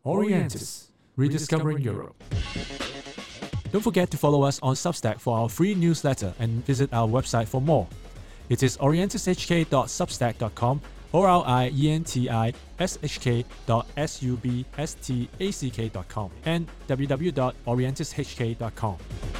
Orientis, Rediscovering Europe. Don't forget to follow us on Substack for our free newsletter and visit our website for more. It is orientishk.substack.com or orientishk.substack.com and www.orientishk.com.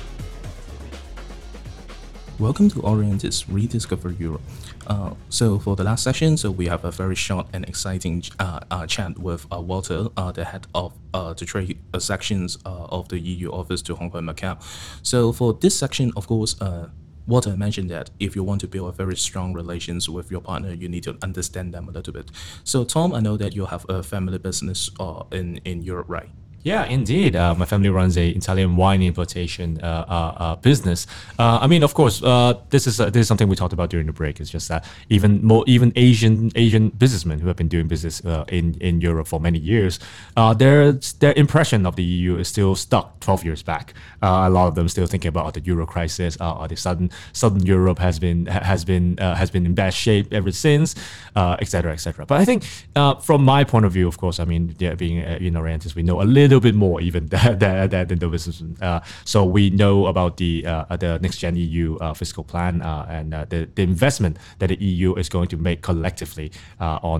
Welcome to Orientis Rediscover Europe. So for the last session, we have a very short and exciting chat with Walter, the head of the trade sections of the EU office to Hong Kong and Macau. So for this section, of course, Walter mentioned that if you want to build a very strong relations with your partner, you need to understand them a little bit. So Tom, I know that you have a family business in Europe, right? Yeah, indeed. My family runs a Italian wine importation business. I mean, of course, this is something we talked about during the break. It's just that even Asian businessmen who have been doing business in Europe for many years, their impression of the EU is still stuck 12 years back. A lot of them still thinking about the Euro crisis. The Southern Europe has been in bad shape ever since, etc., etc. But I think from my point of view, of course, I mean, being Orientis, we know a little bit more even than the businessmen. So we know about the next gen EU fiscal plan and the investment that the EU is going to make collectively on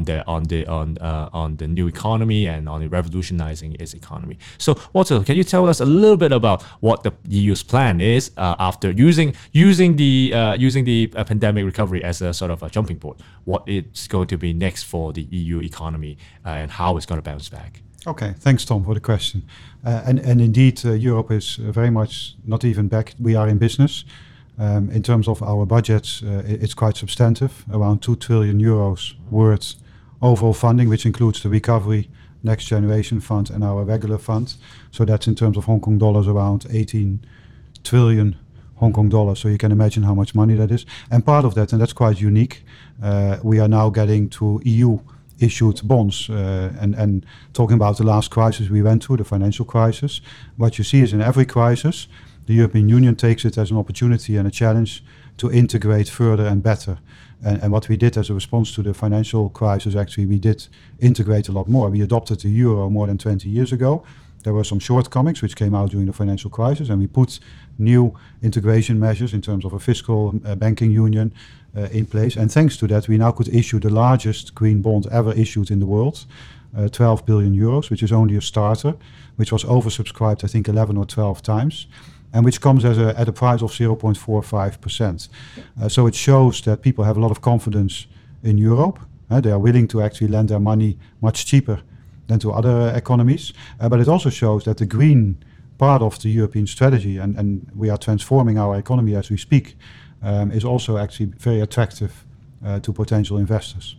the new economy and on revolutionizing its economy. So Walter, can you tell us a little bit about what the EU's plan is after using the pandemic recovery as a sort of a jumping board? What it's going to be next for the EU economy and how it's going to bounce back? Okay, thanks, Tom, for the question. And indeed, Europe is very much not even back. We are in business. In terms of our budgets, it's quite substantive, around 2 trillion euros worth overall funding, which includes the Recovery Next Generation Fund and our regular fund. So that's in terms of Hong Kong dollars, around 18 trillion Hong Kong dollars. So you can imagine how much money that is. And part of that, and that's quite unique, we are now getting to EU issued bonds and talking about the last crisis we went through, the financial crisis. What you see is in every crisis, the European Union takes it as an opportunity and a challenge to integrate further and better. And what we did as a response to the financial crisis, actually, we did integrate a lot more. We adopted the euro more than 20 years ago. There were some shortcomings which came out during the financial crisis, and we put new integration measures in terms of a fiscal banking union in place. And thanks to that, we now could issue the largest green bond ever issued in the world, 12 billion euros, which is only a starter, which was oversubscribed, I think, 11 or 12 times, and which comes at a price of 0.45%. So it shows that people have a lot of confidence in Europe. They are willing to actually lend their money much cheaper than to other economies. But it also shows that the green part of the European strategy, and we are transforming our economy as we speak, is also actually very attractive to potential investors.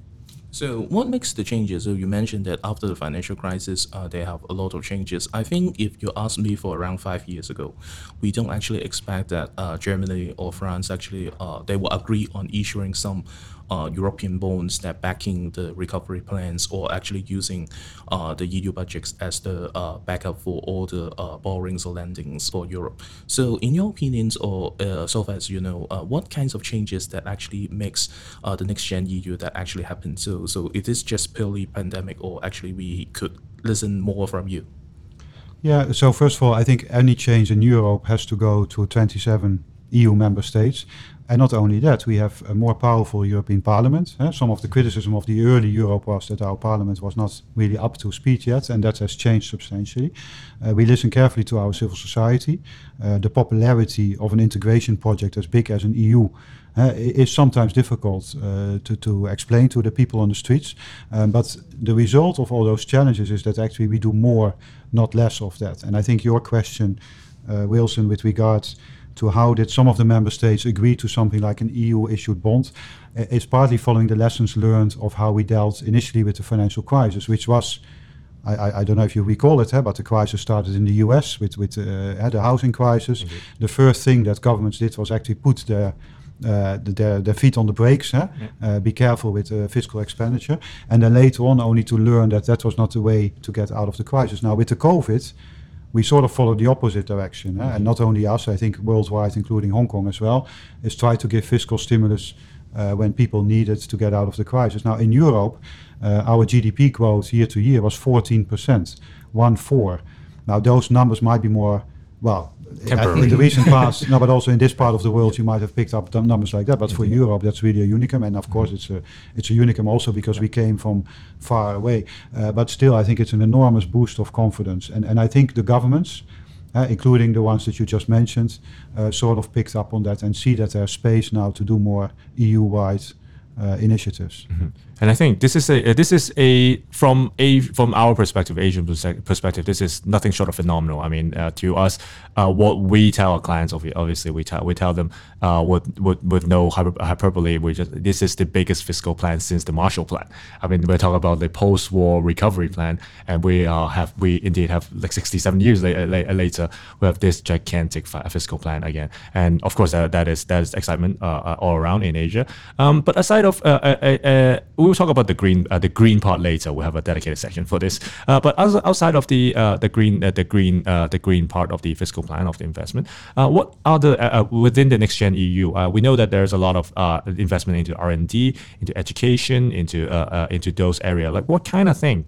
So what makes the changes? So you mentioned that after the financial crisis, they have a lot of changes. I think if you asked me for around 5 years ago, we don't actually expect that Germany or France actually, they will agree on issuing some European bonds that backing the recovery plans or actually using the EU budgets as the backup for all the borrowings or lendings for Europe. So in your opinions, or so far as you know, what kinds of changes that actually makes the next gen EU that actually happen? So it is just purely pandemic, or actually we could listen more from you? Yeah, so first of all, I think any change in Europe has to go to 27 EU member states. And not only that, we have a more powerful European Parliament. Some of the criticism of the early Europe was that our Parliament was not really up to speed yet, and that has changed substantially. We listen carefully to our civil society. The popularity of an integration project as big as an EU is sometimes difficult to explain to the people on the streets. But the result of all those challenges is that actually we do more, not less of that. And I think your question, Wilson, with regards to how did some of the member states agree to something like an EU-issued bond, is partly following the lessons learned of how we dealt initially with the financial crisis, which was, I don't know if you recall it, but the crisis started in the US with the housing crisis. Mm-hmm. The first thing that governments did was actually put their feet on the brakes, be careful with fiscal expenditure, and then later on only to learn that was not the way to get out of the crisis. Now with the COVID, we sort of followed the opposite direction. And not only us, I think worldwide, including Hong Kong as well, is try to give fiscal stimulus when people needed to get out of the crisis. Now in Europe, our GDP growth year to year was 14%, 1-4. Now those numbers might be more, well, in the recent past, no, but also in this part of the world, you might have picked up numbers like that. But for Europe, that's really a unicum, and of course, it's a unicum also because we came from far away. But still, I think it's an enormous boost of confidence, and I think the governments, including the ones that you just mentioned, sort of picked up on that and see that there's space now to do more EU-wide initiatives. Mm-hmm. And I think this is from our perspective, Asian perspective, this is nothing short of phenomenal. I mean, to us, what we tell our clients, obviously, we tell them with no hyperbole, this is the biggest fiscal plan since the Marshall Plan. I mean, we're talking about the post-war recovery plan, and we indeed have like 67 years later, we have this gigantic fiscal plan again. And of course, that is excitement all around in Asia. But aside of we'll talk about the green part later. We'll have a dedicated section for this. But outside of the green part of the fiscal plan of the investment, what are the within the Next Gen EU? We know that there's a lot of investment into R&D, into education, into those areas. Like what kind of thing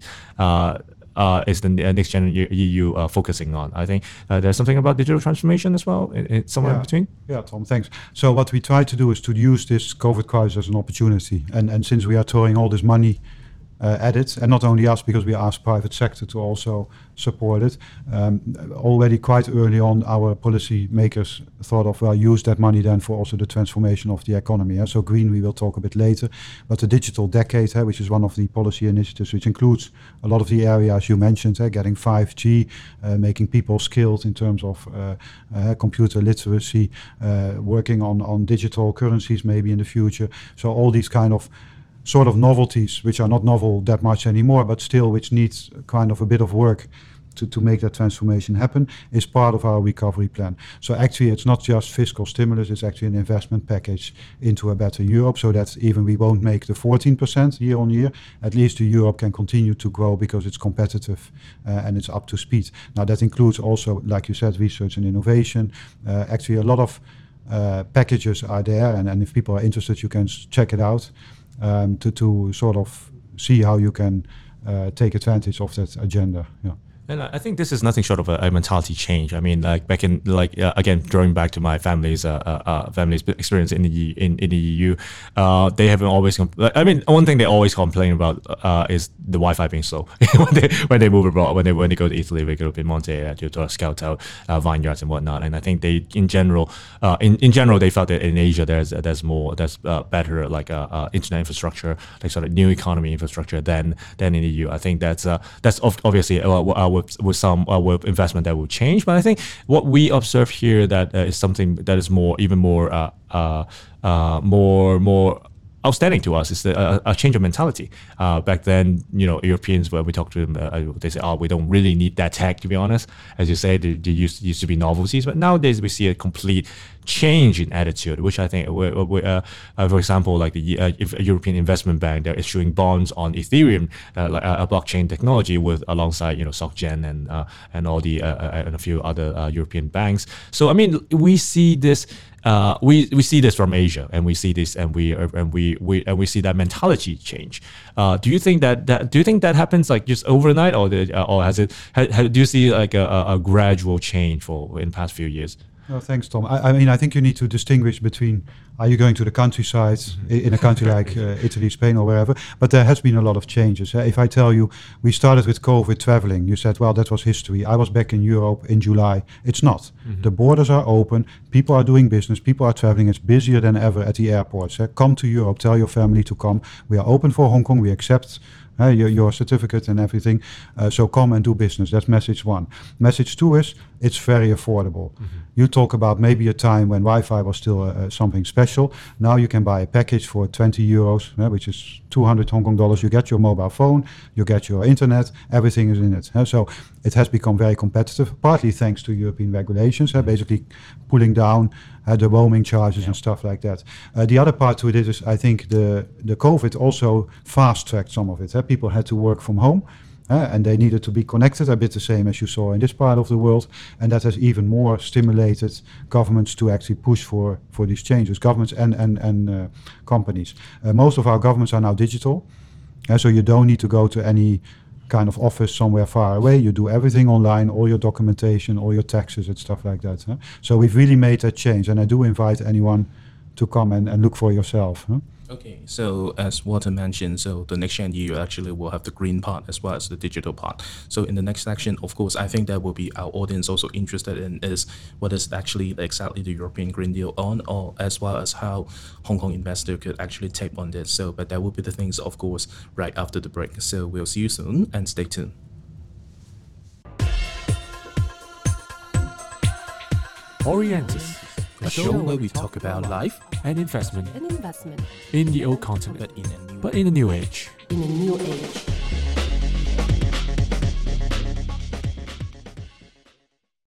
is the Next Gen EU focusing on? I think there's something about digital transformation as well, somewhere in between. Yeah, Tom, thanks. So what we try to do is to use this COVID crisis as an opportunity. And since we are throwing all this money at it, and not only us, because we asked private sector to also support it, already quite early on, our policy makers thought of, well, use that money then for also the transformation of the economy. So green, we will talk a bit later, but the digital decade, which is one of the policy initiatives, which includes a lot of the areas you mentioned, getting 5G, making people skilled in terms of computer literacy, working on digital currencies maybe in the future. So all these kind of sort of novelties, which are not novel that much anymore, but still which needs kind of a bit of work to make that transformation happen, is part of our recovery plan. So actually it's not just fiscal stimulus, it's actually an investment package into a better Europe, so that even we won't make the 14% year on year, at least Europe can continue to grow because it's competitive and it's up to speed. Now that includes also, like you said, research and innovation. Actually a lot of packages are there, and if people are interested, you can check it out. To sort of see how you can take advantage of that agenda. Yeah. And I think this is nothing short of a mentality change. I mean, like back in, again, drawing back to my family's experience in the EU, they haven't always. I mean, one thing they always complain about is the Wi-Fi being slow when they move abroad. When they go to Italy, they go to Piemonte to scout out vineyards and whatnot. And I think they, in general, they felt that in Asia there's better internet infrastructure, like sort of new economy infrastructure than in the EU. I think that's obviously with investment that will change, but I think what we observe here that is something that is more outstanding to us is a change of mentality. Back then, Europeans, when we talk to them, they say, "Oh, we don't really need that tech." To be honest, as you say, they used to be novelties, but nowadays we see a complete change in attitude, which I think, for example, like the European Investment Bank, they're issuing bonds on Ethereum, like a blockchain technology, alongside SocGen and all the and a few other European banks. So I mean, we see this. We see this from Asia, and we see this, and we see that mentality change. Do you think that happens like just overnight, or has it? Do you see like a gradual change in the past few years? No, thanks, Tom. I mean, I think you need to distinguish between, are you going to the countryside in a country like Italy, Spain, or wherever? But there has been a lot of changes. If I tell you, we started with COVID traveling, you said, well, that was history. I was back in Europe in July. It's not. Mm-hmm. The borders are open. People are doing business. People are traveling. It's busier than ever at the airports. Come to Europe. Tell your family to come. We are open for Hong Kong. We accept your certificate and everything. So come and do business. That's message one. Message two is, it's very affordable. Mm-hmm. You talk about maybe a time when Wi-Fi was still something special. Now you can buy a package for 20 euros, which is 200 Hong Kong dollars. You get your mobile phone, you get your internet, everything is in it. So it has become very competitive, partly thanks to European regulations, basically pulling down the roaming charges and stuff like that. The other part to it is I think the COVID also fast-tracked some of it. People had to work from home. And they needed to be connected, a bit the same as you saw in this part of the world, and that has even more stimulated governments to actually push for these changes, governments and companies. Most of our governments are now digital, so you don't need to go to any kind of office somewhere far away. You do everything online, all your documentation, all your taxes and stuff like that. So we've really made that change, and I do invite anyone to come and look for yourself. Okay, so as Walter mentioned, so the next year you actually will have the green part as well as the digital part. So in the next section, of course, I think that will be our audience also interested in is what is actually exactly the European Green Deal on, or as well as how Hong Kong investor could actually take on this. So, but that will be the things, of course, right after the break. So we'll see you soon and stay tuned. Orientus, A show where we talk about life and investment An investment in the old continent, but in a new but in a new age. in a new age.